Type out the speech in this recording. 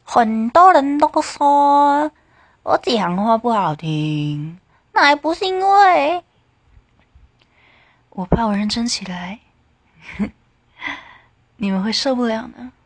很多人都说我讲话不好听，那还不是因为我怕我认真起来，你们会受不了呢。